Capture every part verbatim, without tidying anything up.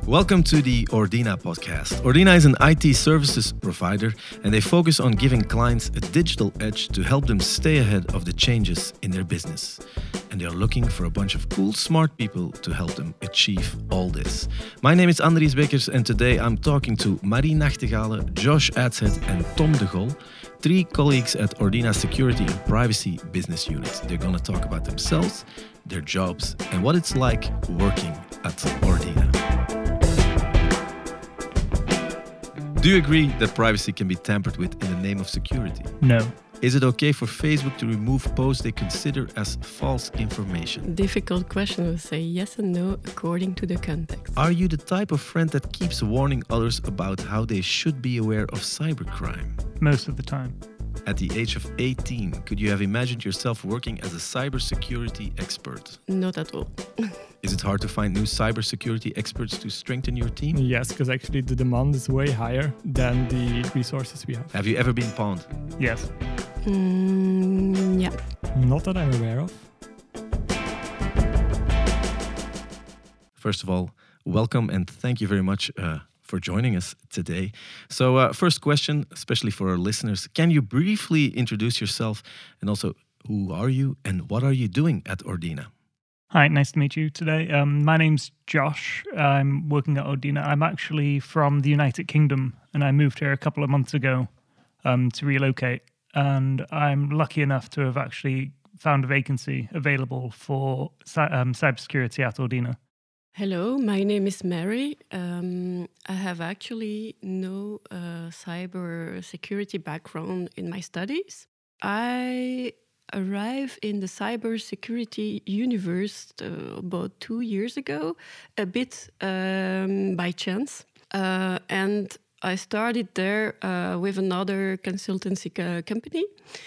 Welcome to the Ordina podcast. Ordina is an I T services provider, and they focus on giving clients a digital edge to help them stay ahead of the changes in their business. And they are looking for a bunch of cool, smart people to help them achieve all this. My name is Andries Bekkers, and today I'm talking to Marie Nachtegale, Josh Adshead, and Tom de Gol, three colleagues at Ordina Security and Privacy Business Unit. They're going to talk about themselves, their jobs, and what it's like working at Ordina. Do you agree that privacy can be tampered with in the name of security? No. Is it okay for Facebook to remove posts they consider as false information? Difficult question. I would say yes and no according to the context. Are you the type of friend that keeps warning others about how they should be aware of cybercrime? Most of the time. At the age of eighteen, could you have imagined yourself working as a cybersecurity expert? Not at all. Is it hard to find new cybersecurity experts to strengthen your team? Yes, because actually the demand is way higher than the resources we have. Have you ever been pawned? Yes. Mm, yeah. Not that I'm aware of. First of all, welcome and thank you very much uh, for joining us today. So uh, first question, especially for our listeners, can you briefly introduce yourself and also who are you and what are you doing at Ordina? Hi, nice to meet you today. Um, my name's Josh. I'm working at Ordina. I'm actually from the United Kingdom and I moved here a couple of months ago um, to relocate. And I'm lucky enough to have actually found a vacancy available for um, cybersecurity at Ordina. Hello, my name is Mary. Um, I have actually no uh, cyber security background in my studies. I arrived in the cyber security universe uh, about two years ago, a bit um, by chance. Uh, and I started there uh, with another consultancy co- company.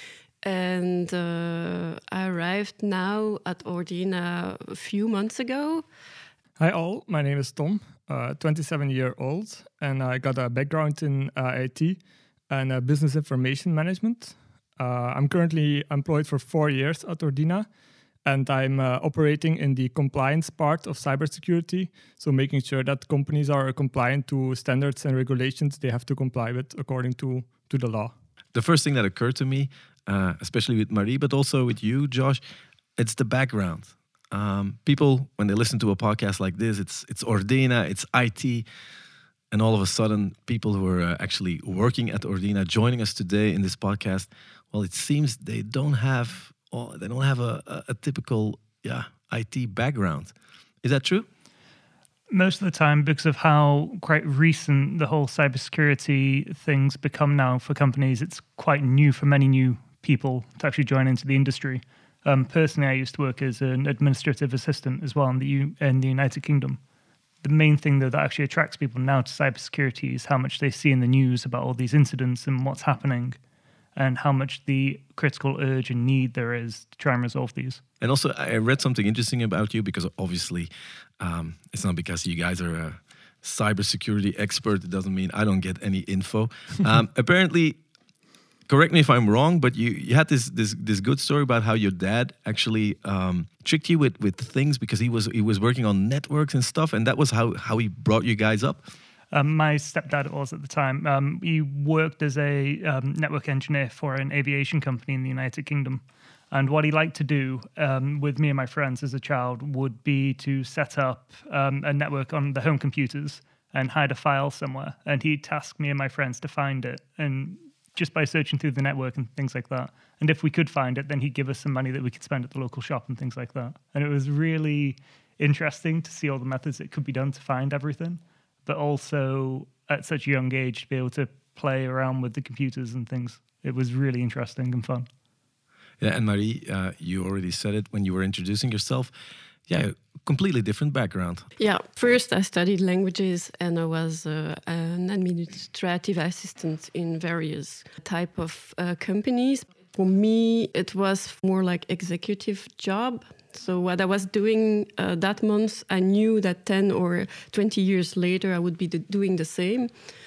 And uh, I arrived now at Ordina a few months ago. Hi all, my name is Tom, uh, twenty-seven year old, and I got a background in uh, I T and uh, business information management. Uh, I'm currently employed for four years at Ordina, and I'm uh, operating in the compliance part of cybersecurity, so making sure that companies are compliant to standards and regulations they have to comply with according to, to the law. The first thing that occurred to me, uh, especially with Marie, but also with you, Josh, it's the background. Um, people, when they listen to a podcast like this, it's it's Ordina, it's I T, and all of a sudden, people who are uh, actually working at Ordina joining us today in this podcast, well, it seems they don't have oh, they don't have a, a, a typical yeah I T background. Is that true? Most of the time, because of how quite recent the whole cybersecurity things become now for companies, it's quite new for many new people to actually join into the industry. Um, personally, I used to work as an administrative assistant as well in the U- in the United Kingdom. The main thing though that actually attracts people now to cybersecurity is how much they see in the news about all these incidents and what's happening, and how much the critical urge and need there is to try and resolve these. And also, I read something interesting about you because obviously, um, it's not because you guys are a cybersecurity expert. It doesn't mean I don't get any info. Um, apparently. Correct me if I'm wrong, but you, you had this this this good story about how your dad actually um, tricked you with, with things because he was he was working on networks and stuff, and that was how, how he brought you guys up? Um, my stepdad was at the time. Um, he worked as a um, network engineer for an aviation company in the United Kingdom. And what he liked to do um, with me and my friends as a child would be to set up um, a network on the home computers and hide a file somewhere. And he'd task me and my friends to find it, and just by searching through the network and things like that. And if we could find it, then he'd give us some money that we could spend at the local shop and things like that. And it was really interesting to see all the methods that could be done to find everything, but also at such a young age to be able to play around with the computers and things. It was really interesting and fun. Yeah, and Marie, uh, you already said it when you were introducing yourself. Yeah, completely different background. Yeah, first I studied languages and I was uh, an administrative assistant in various type of uh, companies. For me, it was more like executive job. So what I was doing uh, that month, I knew that ten or twenty years later I would be the, doing the same.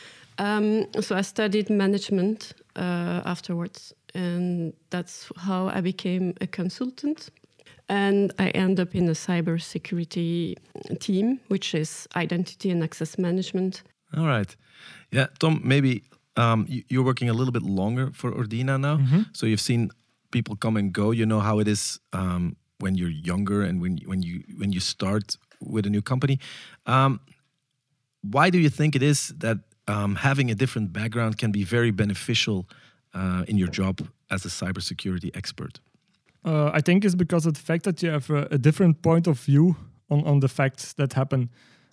Um, so I studied management uh, afterwards, and that's how I became a consultant. And I end up in a cybersecurity team, which is identity and access management. All right. Yeah, Tom, maybe um, you- you're working a little bit longer for Ordina now. Mm-hmm. So you've seen people come and go. You know how it is um, when you're younger and when, when, you, when you start with a new company. Um, why do you think it is that um, having a different background can be very beneficial uh, in your job as a cybersecurity expert? Uh, I think it's because of the fact that you have a, a different point of view on, on the facts that happen.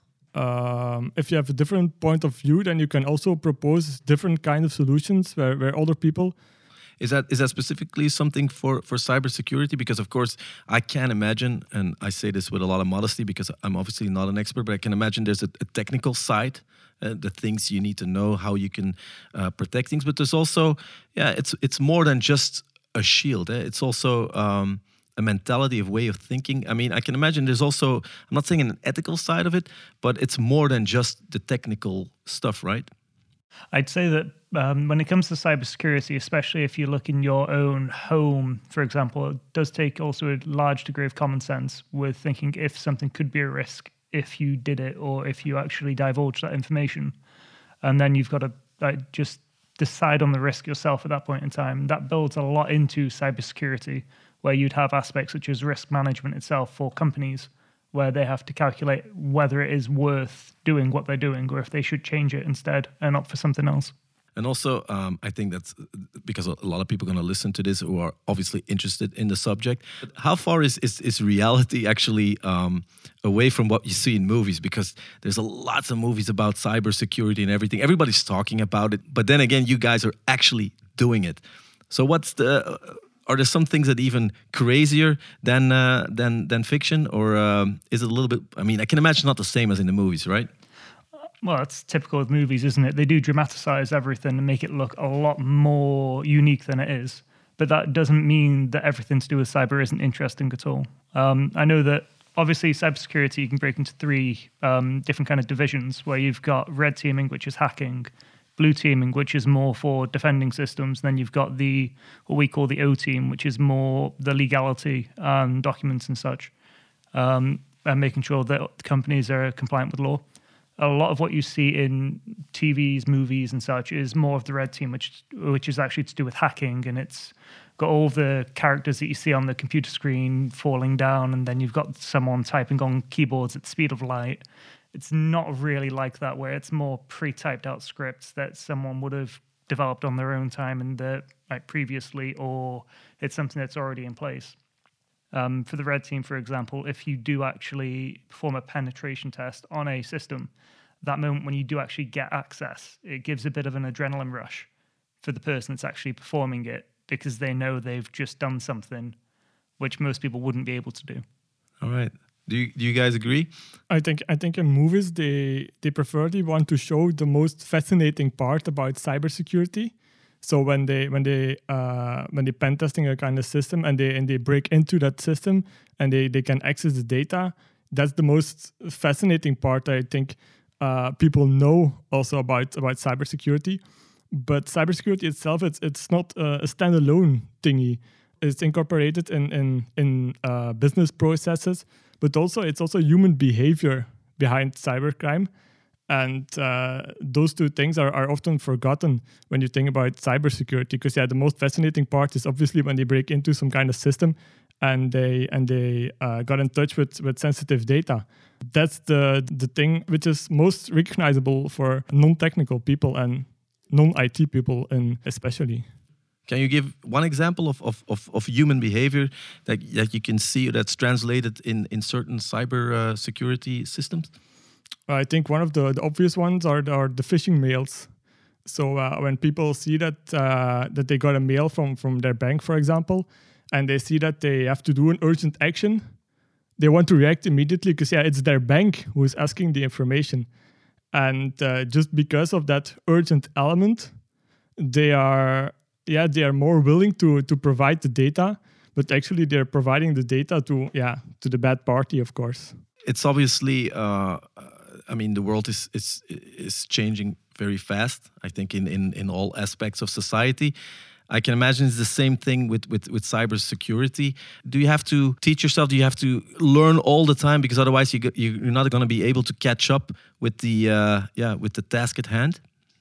Um, if you have a different point of view, then you can also propose different kind of solutions where, where other people... Is that is that specifically something for, for cybersecurity? Because, of course, I can imagine, and I say this with a lot of modesty because I'm obviously not an expert, but I can imagine there's a, a technical side, uh, the things you need to know, how you can uh, protect things. But there's also, yeah, it's it's more than just a shield. Eh? It's also um, a mentality, of way of thinking. I mean, I can imagine there's also, I'm not saying an ethical side of it, but it's more than just the technical stuff, right? I'd say that um, when it comes to cybersecurity, especially if you look in your own home, for example, it does take also a large degree of common sense with thinking if something could be a risk if you did it or if you actually divulge that information. And then you've got to like, just decide on the risk yourself at that point in time. That builds a lot into cybersecurity, where you'd have aspects such as risk management itself for companies, where they have to calculate whether it is worth doing what they're doing or if they should change it instead and opt for something else. And also, um, I think that's because a lot of people are going to listen to this who are obviously interested in the subject. But how far is, is, is reality actually um, away from what you see in movies? Because there's a lots of movies about cybersecurity and everything. Everybody's talking about it. But then again, you guys are actually doing it. So what's the... Uh, Are there some things that even crazier than uh, than than fiction, or um, is it a little bit? I mean, I can imagine not the same as in the movies, right? Well, that's typical of movies, isn't it? They do dramatize everything and make it look a lot more unique than it is. But that doesn't mean that everything to do with cyber isn't interesting at all. Um, I know that obviously cybersecurity you can break into three um, different kind of divisions, where you've got red teaming, which is hacking, blue teaming, which is more for defending systems. Then you've got the what we call the O team, which is more the legality and documents and such, um, and making sure that companies are compliant with law. A lot of what you see in T Vs, movies, and such is more of the red team, which which is actually to do with hacking, and it's got all the characters that you see on the computer screen falling down, and then you've got someone typing on keyboards at the speed of light. It's not really like that, where it's more pre-typed out scripts that someone would have developed on their own time and the like previously, or it's something that's already in place. Um, for the red team, for example, if you do actually perform a penetration test on a system, that moment when you do actually get access, it gives a bit of an adrenaline rush for the person that's actually performing it, because they know they've just done something which most people wouldn't be able to do. All right. Do you, do you guys agree? I think I think in movies they they preferably want to show the most fascinating part about cybersecurity. So when they when they uh, when they pen testing a kind of system and they and they break into that system and they, they can access the data, that's the most fascinating part. I think uh, people know also about about cybersecurity. But cybersecurity itself, it's it's not a standalone thingy. It's incorporated in in in uh, business processes. But also, it's also human behavior behind cybercrime. And uh, those two things are, are often forgotten when you think about cybersecurity. Because, yeah, the most fascinating part is obviously when they break into some kind of system and they and they uh, got in touch with, with sensitive data. That's the, the thing which is most recognizable for non-technical people and non-I T people in especially. Can you give one example of, of, of, of human behavior that, that you can see that's translated in, in certain cyber uh, security systems? I think one of the, the obvious ones are, are the phishing mails. So uh, when people see that uh, that they got a mail from, from their bank, for example, and they see that they have to do an urgent action, they want to react immediately because, yeah, it's their bank who is asking the information. And uh, just because of that urgent element, they are... yeah, they are more willing to to provide the data, but actually they're providing the data to yeah to the bad party, of course. It's obviously, uh, I mean, the world is is is changing very fast. I think in in in all aspects of society. I can imagine it's the same thing with, with, with cybersecurity. Do you have to teach yourself? Do you have to learn all the time? Because otherwise you get, you're not going to be able to catch up with the uh, yeah with the task at hand.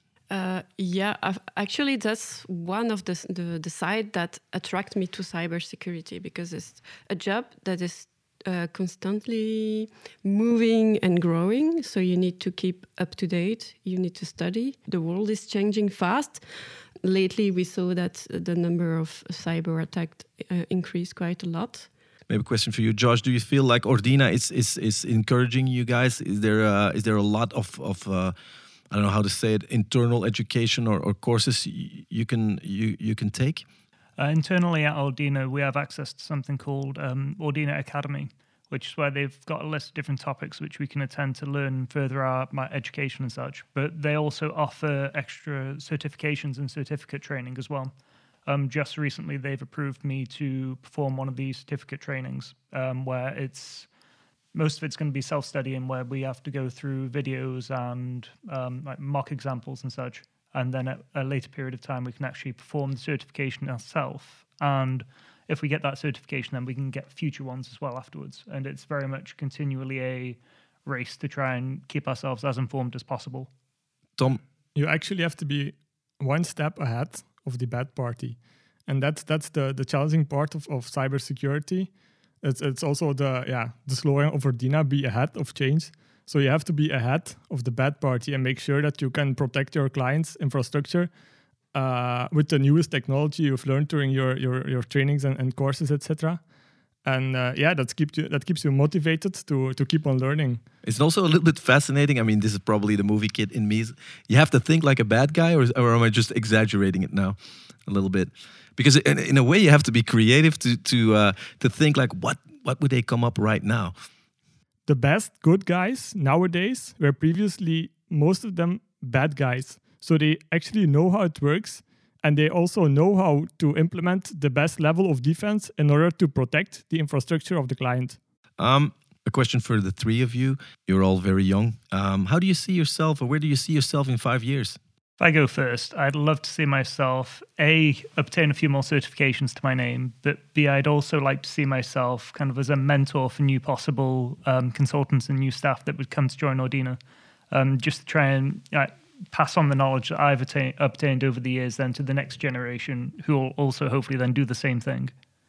Uh, yeah, I've, actually, that's one of the, the the side that attract me to cybersecurity, because it's a job that is uh, constantly moving and growing. So you need to keep up to date. You need to study. The world is changing fast. Lately, we saw that the number of cyber attacks uh, increased quite a lot. Maybe a question for you, Josh. Do you feel like Ordina is is is encouraging you guys? Is there uh, is there a lot of of uh, I don't know how to say it, internal education or, or courses you, you can you you can take? Uh, internally at Ordina, we have access to something called um, Ordina Academy, which is where they've got a list of different topics which we can attend to learn further our my education and such. But they also offer extra certifications and certificate training as well. Um, just recently, they've approved me to perform one of these certificate trainings, um, where it's most of it's going to be self-studying, where we have to go through videos and um, like mock examples and such. And then at a later period of time, we can actually perform the certification ourselves. And if we get that certification, then we can get future ones as well afterwards. And it's very much continually a race to try and keep ourselves as informed as possible. Tom? You actually have to be one step ahead of the bad party. And that's that's the, the challenging part of, of cybersecurity. It's it's also the yeah the slogan of Ordina, be ahead of change. So you have to be ahead of the bad party and make sure that you can protect your clients' infrastructure uh, with the newest technology you've learned during your your, your trainings and, and courses, et cetera. And uh, yeah, that keeps you that keeps you motivated to to keep on learning. It's also a little bit fascinating. I mean, this is probably the movie kid in me. You have to think like a bad guy, or, or am I just exaggerating it now a little bit? Because in, in a way, you have to be creative to to uh, to think like, what what would they come up right now? The best good guys nowadays were previously most of them bad guys. So they actually know how it works, and they also know how to implement the best level of defense in order to protect the infrastructure of the client. Um, a question for the three of you. You're all very young. Um, how do you see yourself, or where do you see yourself in five years? If I go first, I'd love to see myself, A, obtain a few more certifications to my name, but B, I'd also like to see myself kind of as a mentor for new possible um, consultants and new staff that would come to join Ordina, um, just to try and uh, pass on the knowledge that I've attain- obtained over the years then to the next generation, who will also hopefully then do the same thing.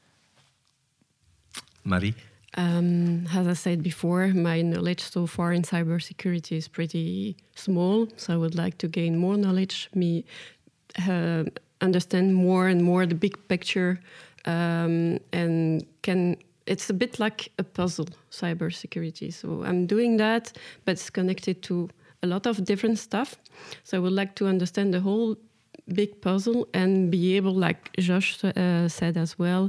Marie? Um, as I said before, my knowledge so far in cybersecurity is pretty small, so I would like to gain more knowledge, me uh, understand more and more the big picture, um, and can. It's a bit like a puzzle, cybersecurity. So I'm doing that, but it's connected to a lot of different stuff. So I would like to understand the whole big puzzle and be able, like Josh uh, said as well,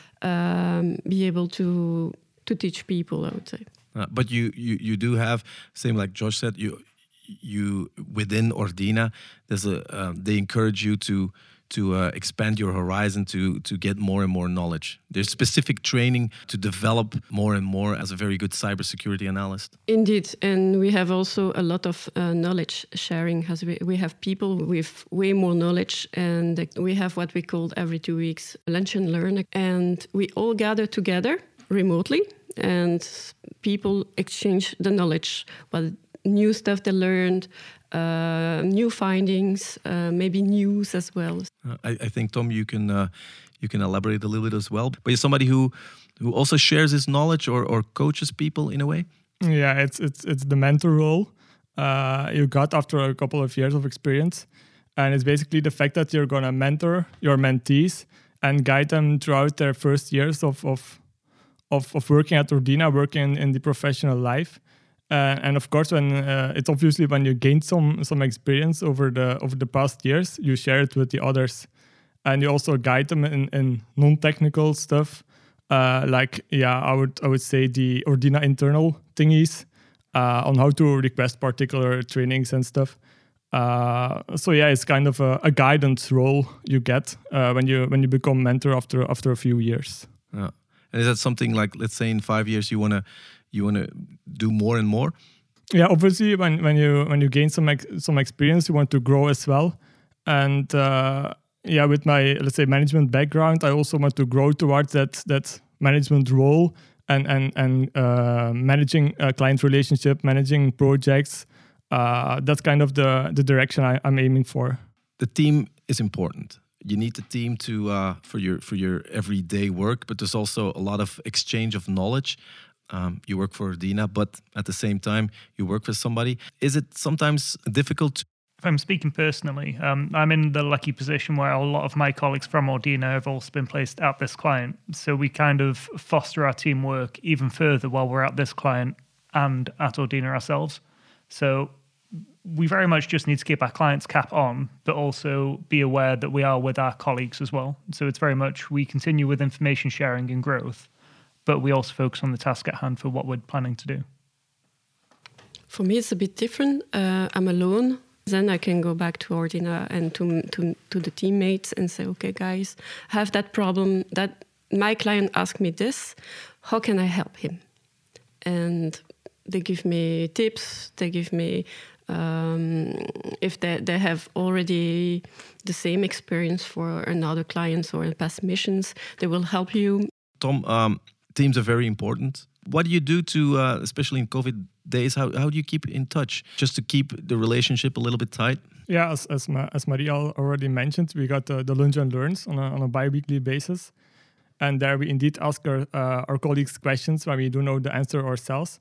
um, be able to. to teach people, I would say. Uh, but you, you you do have, same like Josh said, you you within Ordina, there's a um, they encourage you to to uh, expand your horizon, to to get more and more knowledge. There's specific training to develop more and more as a very good cybersecurity analyst. Indeed, and we have also a lot of uh, knowledge sharing. As we, we have people with way more knowledge, and we have what we call every two weeks lunch and learn, and we all gather together remotely, and people exchange the knowledge, what new stuff they learned, uh, new findings, uh, maybe news as well. Uh, I, I think Tom, you can uh, you can elaborate a little bit as well. But you're somebody who who also shares his knowledge or, or coaches people in a way. Yeah, it's it's it's the mentor role uh, you got after a couple of years of experience, and it's basically the fact that you're gonna mentor your mentees and guide them throughout their first years of of Of, of working at Ordina, working in the professional life, uh, and of course, when uh, it's obviously when you gain some some experience over the over the past years, you share it with the others, and you also guide them in, in non-technical stuff, uh, like yeah, I would I would say the Ordina internal thingies uh, on how to request particular trainings and stuff. Uh, so yeah, it's kind of a, a guidance role you get uh, when you when you become mentor after after a few years. Yeah. And is that something like, let's say in five years you wanna you wanna do more and more? Yeah, obviously when, when you when you gain some ex- some experience, you want to grow as well. And uh, yeah, with my, let's say, management background, I also want to grow towards that that management role and and and uh, managing a client relationship, managing projects. Uh, that's kind of the the direction I, I'm aiming for. The team is important. You need the team to uh, for your for your everyday work, but there's also a lot of exchange of knowledge. Um, you work for Ordina, but at the same time, you work with somebody. Is it sometimes difficult to If I'm speaking personally, um, I'm in the lucky position where a lot of my colleagues from Ordina have also been placed at this client. So we kind of foster our teamwork even further while we're at this client and at Ordina ourselves. So we very much just need to keep our client's cap on, but also be aware that we are with our colleagues as well. So it's very much we continue with information sharing and growth, but we also focus on the task at hand for what we're planning to do. For me, it's a bit different. Uh, I'm alone. Then I can go back to Ordina and to, to to the teammates and say, okay, guys, I have that problem. That my client asked me this. How can I help him? And they give me tips. They give me, um, if they, they have already the same experience for another clients or past missions, they will help you. Tom, um, teams are very important. What do you do to, uh, especially in COVID days, how, how do you keep in touch just to keep the relationship a little bit tight? Yeah, as as, Ma- as Maria already mentioned, we got uh, the Lunch and Learns on a, on a bi-weekly basis. And there we indeed ask our, uh, our colleagues questions when we don't know the answer ourselves.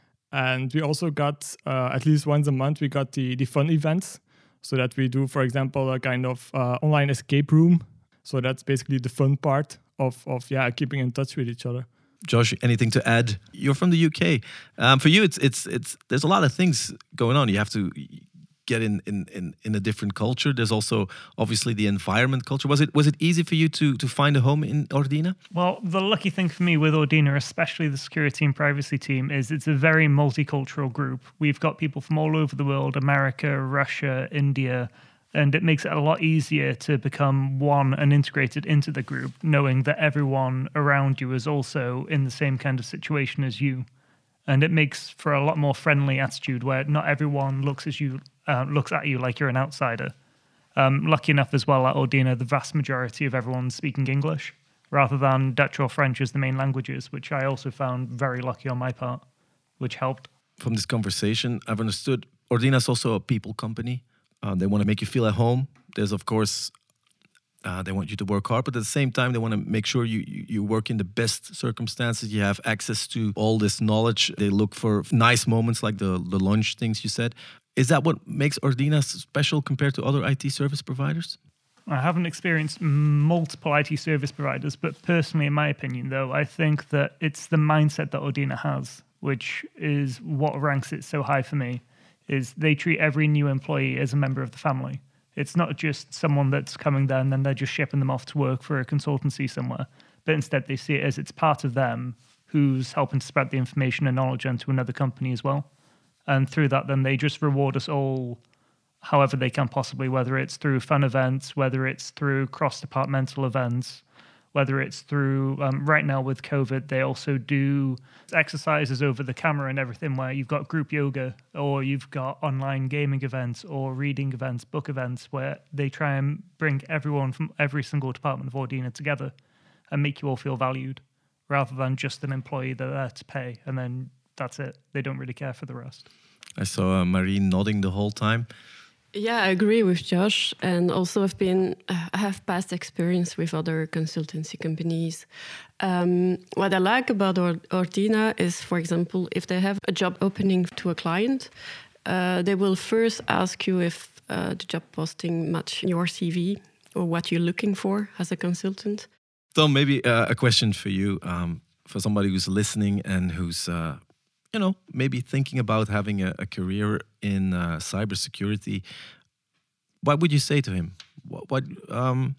And we also got, uh, at least once a month, we got the, the fun events. So that we do, for example, a kind of uh, online escape room. So that's basically the fun part of, of yeah keeping in touch with each other. Josh, anything to add? You're from the U K. Um, for you, it's it's it's. There's a lot of things going on. You have to get in in, in in a different culture. There's also obviously the environment culture. Was it was it easy for you to to find a home in Ordina? Well, the lucky thing for me with Ordina, especially the security and privacy team, is it's a very multicultural group. We've got people from all over the world: America, Russia, India. And it makes it a lot easier to become one and integrated into the group, knowing that everyone around you is also in the same kind of situation as you. And it makes for a lot more friendly attitude where not everyone looks as you uh, looks at you like you're an outsider. Um, lucky enough as well at Ordina, the vast majority of everyone's speaking English rather than Dutch or French as the main languages, which I also found very lucky on my part, which helped. From this conversation, I've understood Ordina is also a people company. Uh, they want to make you feel at home. There's, of course, uh, they want you to work hard, but at the same time, they want to make sure you, you, you work in the best circumstances. You have access to all this knowledge. They look for nice moments like the, the lunch things you said. Is that what makes Ordina special compared to other I T service providers? I haven't experienced multiple I T service providers, but personally, in my opinion, though, I think that it's the mindset that Ordina has, which is what ranks it so high for me. Is they treat every new employee as a member of the family. It's not just someone that's coming there and then they're just shipping them off to work for a consultancy somewhere, but instead they see it as it's part of them who's helping to spread the information and knowledge onto another company as well. And through that, then they just reward us all however they can possibly, whether it's through fun events, whether it's through cross-departmental events, whether it's through, um, right now with COVID, they also do exercises over the camera and everything where you've got group yoga or you've got online gaming events or reading events, book events, where they try and bring everyone from every single department of Ordina together and make you all feel valued rather than just an employee that they're there to pay and then that's it. They don't really care for the rest. I saw uh, Marie nodding the whole time. Yeah, I agree with Josh. And also I've been, I have past experience with other consultancy companies. Um, what I like about Or- Ordina is, for example, if they have a job opening to a client, uh, they will first ask you if uh, the job posting match your C V or what you're looking for as a consultant. Tom, maybe uh, a question for you, um, for somebody who's listening and who's, uh, you know, maybe thinking about having a, a career in uh, cybersecurity. What would you say to him? What? what um...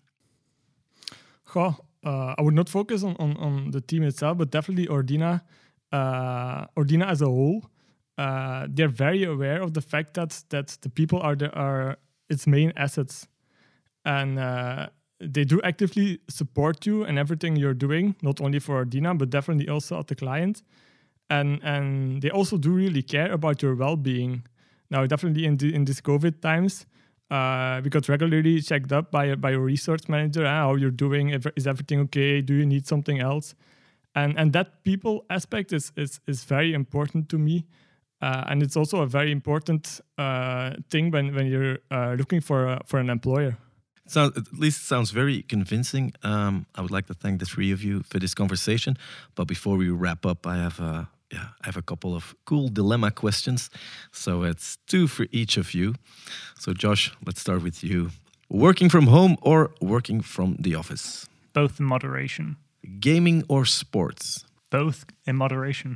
Goh, uh, I would not focus on, on, on the team itself, but definitely Ordina, uh, Ordina as a whole. Uh, they're very aware of the fact that that the people are the, are its main assets, and uh, they do actively support you in everything you're doing, not only for Ordina, but definitely also at the client. And and they also do really care about your well-being. Now, definitely in the, in these COVID times, Uh, we got regularly checked up by a, by a research manager. Uh, how you're doing? If, is everything okay? Do you need something else? And and that people aspect is is is very important to me. Uh, and it's also a very important uh, thing when when you're uh, looking for a, for an employer. So at least it sounds very convincing. Um, I would like to thank the three of you for this conversation. But before we wrap up, I have a yeah, I have a couple of cool dilemma questions. So it's two for each of you. So Josh, let's start with you. Working from home or working from the office? Both in moderation. Gaming or sports? Both in moderation.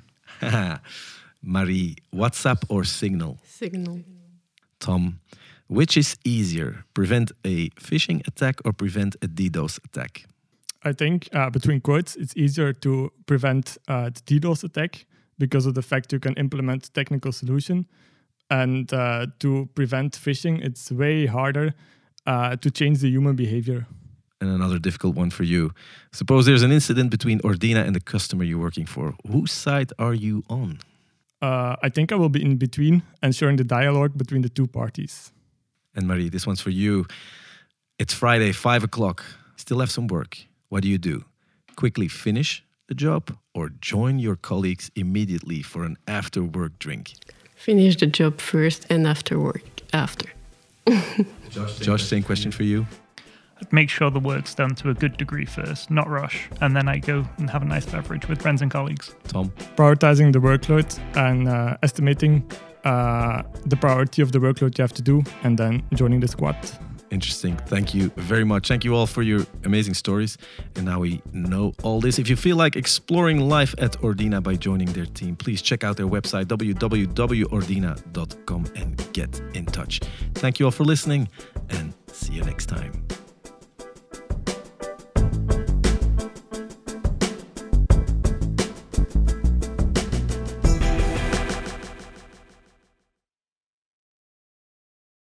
Marie, WhatsApp or Signal? Signal. Tom, which is easier, prevent a phishing attack or prevent a DDoS attack? I think uh, between quotes, it's easier to prevent uh, the DDoS attack because of the fact you can implement technical solution. And uh, to prevent phishing, it's way harder uh, to change the human behavior. And another difficult one for you. Suppose there's an incident between Ordina and the customer you're working for. Whose side are you on? Uh, I think I will be in between, ensuring the dialogue between the two parties. And Marie, this one's for you. It's Friday, five o'clock. Still have some work. What do you do? Quickly finish the job or join your colleagues immediately for an after-work drink? Finish the job first and after work after. Josh, Josh, same question for you. I'd make sure the work's done to a good degree first, not rush, and then I go and have a nice beverage with friends and colleagues. Tom? Prioritizing the workload and uh, estimating uh, the priority of the workload you have to do, and then joining the squad. Interesting. Thank you very much. Thank you all for your amazing stories. And now we know all this. If you feel like exploring life at Ordina by joining their team, please check out their website, w w w dot ordina dot com, and get in touch. Thank you all for listening, and see you next time.